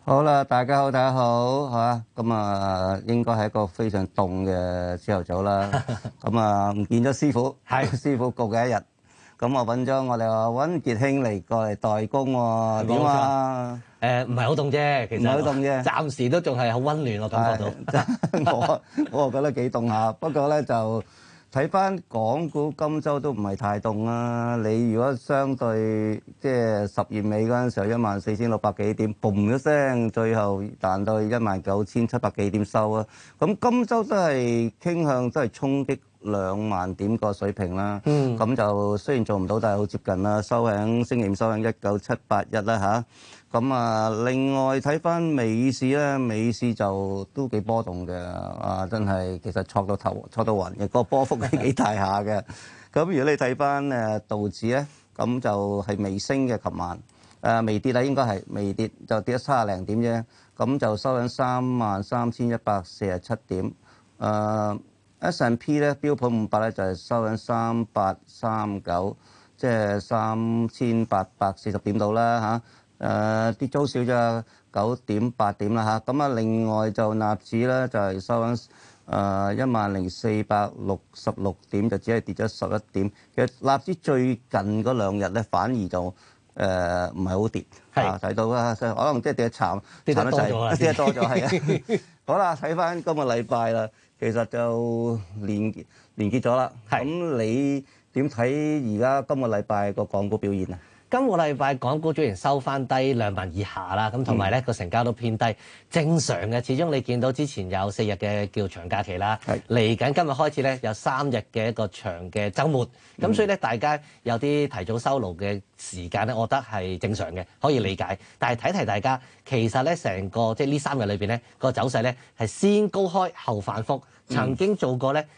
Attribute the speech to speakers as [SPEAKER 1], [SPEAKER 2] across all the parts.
[SPEAKER 1] 好啦，大家好，大家好，嚇咁啊，應該係一個非常凍嘅朝頭早啦。咁啊，唔見咗師傅，
[SPEAKER 2] 係
[SPEAKER 1] 師傅焗嘅一日。咁我揾咗我哋話溫傑兄嚟過嚟代工喎，點啊？
[SPEAKER 2] 唔係好凍啫，其實
[SPEAKER 1] 唔係好凍啫
[SPEAKER 2] 暫時都仲係好溫暖，我感覺到。
[SPEAKER 1] 我又覺得幾凍下，不過咧就睇翻港股今週都唔係太凍啦。你如果相對即係10月尾嗰陣時候14,600幾點，嘣一聲，最後彈到19,700幾點收啊！咁今週都係傾向都係衝擊2萬點個水平啦。咁就雖然做唔到，但係好接近啦。收喺星期五收喺19781啦嚇。咁啊，另外睇翻美市咧，美市就都幾波動嘅，啊真係其實挫到暈嘅，個波幅係幾大下嘅。咁如果你睇翻道指咧，咁就係微升嘅，琴晚微跌啦，應該係微跌，就跌咗30零點啫。咁就收喺33,147點。S&P 咧，標普500咧就係收喺3839，即係3,840點度啦嚇。跌咗少咗9.8點啦嚇，咁啊另外就納指咧就係收緊10,466點，就只係跌咗11點。其實納指最近嗰2日咧反而就唔係好跌，睇到啦，可能即係跌得慘，
[SPEAKER 2] 跌得多咗啦，
[SPEAKER 1] 跌得多咗係啊。好啦，睇翻今個禮拜啦，其實就連結咗啦。咁你點睇而家今個禮拜個港股表現啊？
[SPEAKER 2] 今個禮拜港股雖然收翻低2萬以下啦，咁同埋咧個成交都偏低，正常嘅。始終你見到之前有4日嘅叫長假期啦，嚟緊今日開始咧有3日嘅一個長嘅週末，咁所以咧大家有啲提早收爐嘅時間咧，我覺得係正常嘅，可以理解。但係提大家，其實咧成個即係呢3日裏邊咧個走勢咧係先高開後反覆，曾經做過咧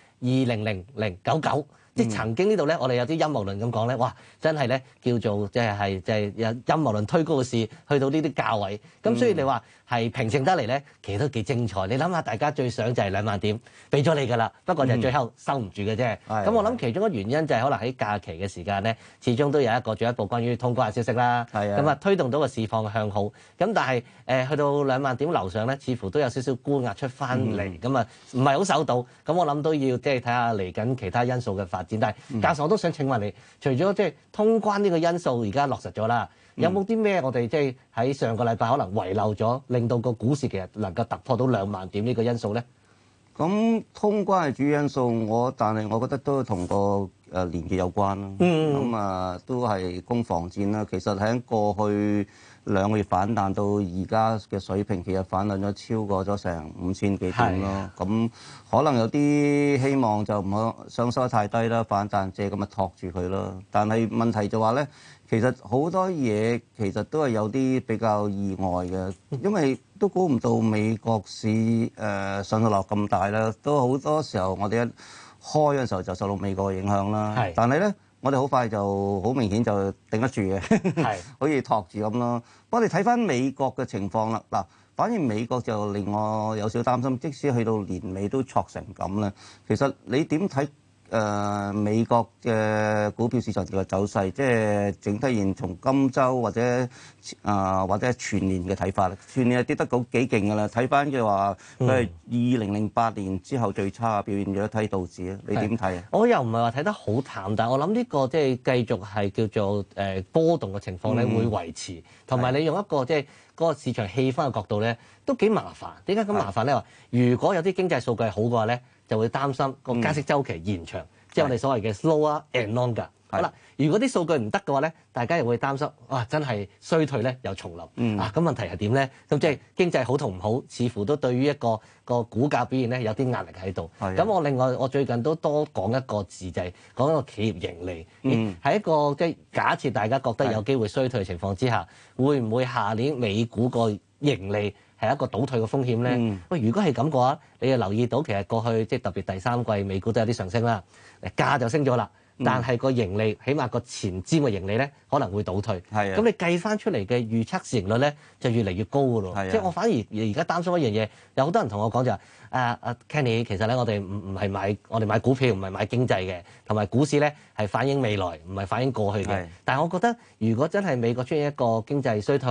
[SPEAKER 2] 200099。即係曾經呢度咧，我哋有啲陰謀論咁講咧，哇！真係咧叫做即係有陰謀論推高嘅事，去到呢啲價位。咁所以你話係平靜得嚟咧，其實都幾精彩。你諗下，大家最想就係2萬點，俾咗你㗎啦。不過就最後收唔住嘅啫。咁我諗其中一個原因就係可能喺假期嘅時間咧，始終都有一個進一步關於通關嘅消息啦。咁啊推動到個市況向好。咁但係去到2萬點樓上咧，似乎都有少少沽壓出翻嚟。咁啊唔係好守到。咁我諗都要即係睇下嚟緊其他因素嘅發展。但係教授，我都想請問你，除咗即係通關呢個因素而家落實咗啦，有冇啲咩我哋即係喺上個禮拜可能遺漏咗，令到個股市其實能夠突破到2萬點呢個因素咧？
[SPEAKER 1] 咁通關係主要因素，但係我覺得都同個連結有關啦。咁啊，都係攻防戰啦。其實喺過去2個月反彈到而家嘅水平，其實反彈咗超過咗成5000幾點咯。咁可能有啲希望就唔好上收得太低啦，反彈借咁咪托住佢咯。但係問題就話咧，其實好多嘢其實都係有啲比較意外嘅，因為都估唔到美國市上落咁大啦。都好多時候我哋一開嘅時候就受到美國嘅影響啦。但係咧，我哋好快就好明顯就頂得住嘅，可以托住咁咯。不過你睇翻美國嘅情況啦，嗱，反而美國就令我有少擔心，即使去到年尾都挫成咁咧。其實你點睇美國嘅股票市場嘅走勢？即係整體而言，從今週或者全年嘅睇法咧，全年係跌得幾勁㗎啦。睇翻嘅話，佢係2008年之後最差嘅表現咗，睇道指啊，你點睇啊？
[SPEAKER 2] 我又唔係話睇得好淡，但係我諗呢個即係繼續係叫做波動嘅情況咧，會維持。同埋你用一個即係嗰個市場氣氛嘅角度咧，都幾麻煩。點解咁麻煩咧？話如果有啲經濟數據好嘅話咧，就會擔心個加息週期延長，即係我哋所謂嘅 slower and longer。好啦，如果啲數據唔得嘅話咧，大家又會擔心，哇！真係衰退咧又重臨。咁問題係點咧？咁即係經濟好同唔好，似乎都對於一個股價表現咧有啲壓力喺度。咁我另外我最近都多講一個字，就係講一個企業盈利。喺一個即係假設大家覺得有機會衰退嘅情況之下，會唔會下年美股個盈利係一個倒退嘅風險咧？喂，如果係咁嘅話，你就留意到其實過去即係特別第3季美股都有啲上升啦，價就升咗啦。但係個盈利，起碼個前瞻嘅盈利咧，可能會倒退。咁你計翻出嚟嘅預測市盈率咧，就越嚟越高㗎咯。即係我反而而家擔心一樣嘢，有好多人同我講就話，Kenny， 其實咧我哋唔係買我哋買股票，唔係買經濟嘅，同埋股市咧係反映未來，唔係反映過去嘅。但係我覺得，如果真係美國出現一個經濟衰退，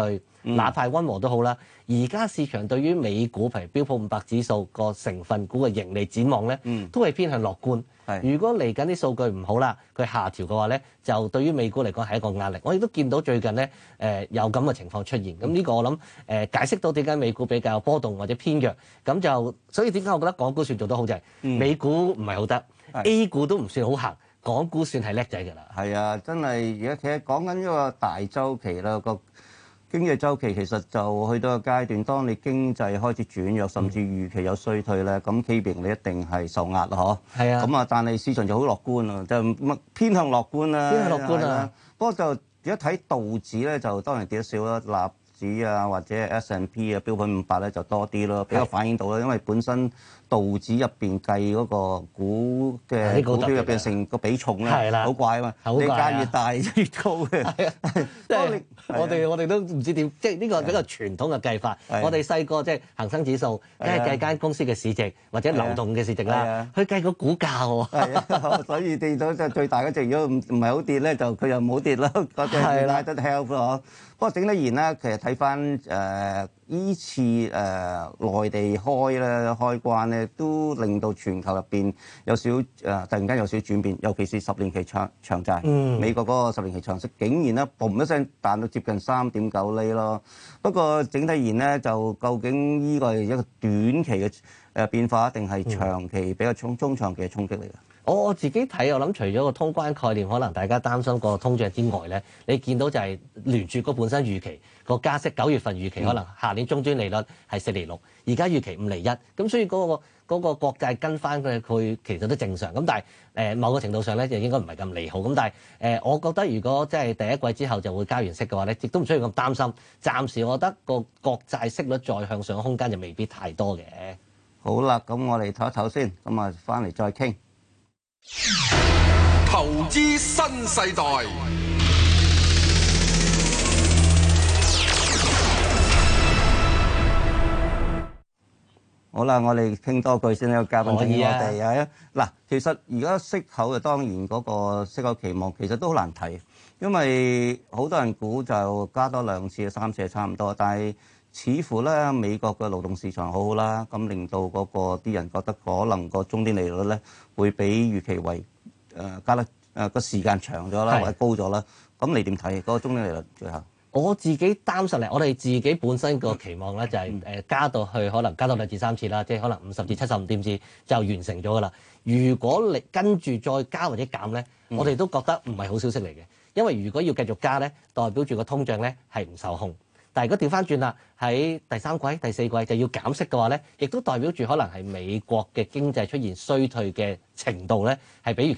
[SPEAKER 2] 哪怕溫和都好啦。而家市場對於美股譬如標普500指數個成分股嘅盈利展望咧，都係偏向樂觀。如果嚟緊啲數據唔好啦，佢下調嘅話咧，就對於美股嚟講係一個壓力。我亦都見到最近咧有咁嘅情況出現。咁呢個我諗解釋到點解美股比較波動或者偏弱。咁就所以點解我覺得港股算做得好就係美股唔係好得，A 股都唔算好行，港股算係叻仔㗎啦。
[SPEAKER 1] 係啊，真係而家其實講緊一個大週期啦，個經濟週期其實就去到個階段，當你經濟開始轉弱，甚至預期有衰退咧，咁企業你一定係受壓咯，嗬。係啊。咁啊，但係市場就好樂觀啊，就偏向樂觀啦。偏向樂觀啊！不過就而家睇道指咧，就當然跌得少啦，納指啊或者 S&P 啊標普500咧就多啲咯，比較反映到啦，因為本身道指入邊計嗰個股嘅股票入邊成個比重咧，好怪啊嘛，你間越大越高嘅。
[SPEAKER 2] 即係我哋都唔知點，即係呢個比較傳統嘅計法。我哋細個即係恒生指數，梗係計間公司嘅市值或者流動嘅市值啦，去計個股價喎。
[SPEAKER 1] 係啊，所以跌到即係最大嗰隻，如果唔係好跌咧，就佢又唔好跌啦。嗰隻拉得 help 咯。不過整體而言咧，其實睇翻依次內地開關咧，都令到全球入邊有少突然間有少少轉變，尤其是10年期長債，美國嗰個10年期長息竟然咧嘣一聲彈到接近3.9厘咯。不過整體而言咧，就究竟呢個係一個短期嘅變化，定係長期比較中長期嘅衝擊嚟㗎？
[SPEAKER 2] 我自己睇，我諗除咗個通關概念，可能大家擔心個通脹之外咧，你見到就係聯儲局本身預期個加息9月份預期可能下年終端利率係4厘6，而家預期5厘1，咁所以嗰個國債跟翻佢其實都正常。咁但係某個程度上咧就應該唔係咁利好。咁但係我覺得如果即係第一季之後就會加完息嘅話咧，亦都唔需要咁擔心。暫時我覺得個國債息率再向上空間就未必太多嘅。
[SPEAKER 1] 好啦，咁我哋唞一唞先，咁啊翻嚟再傾。
[SPEAKER 3] 投資新世代。
[SPEAKER 1] 好啦，我哋傾多句先，有嘉賓請我哋啊。嗱，其實而家息口嘅當然嗰個息口期望其實都好難睇，因為好多人估就加多2次、3次係差唔多，但係似乎咧美國嘅勞動市場好好啦，咁令到嗰個啲人覺得可能個終端利率咧會比預期為加得個時間長咗啦，或者高咗啦。咁你點睇嗰個終端利率最後？
[SPEAKER 2] 我自己擔心嚟，我哋自己本身個期望咧就係加到去可能加到2至3次啦，即係可能50至75點子就完成咗噶啦。如果你跟住再加或者減咧，我哋都覺得唔係好消息嚟嘅，因為如果要繼續加咧，代表住個通脹咧係唔受控。但係如果調翻轉啦，喺第3季、第4季就要減息嘅話咧，亦都代表住可能係美國嘅經濟出現衰退嘅程度咧係比預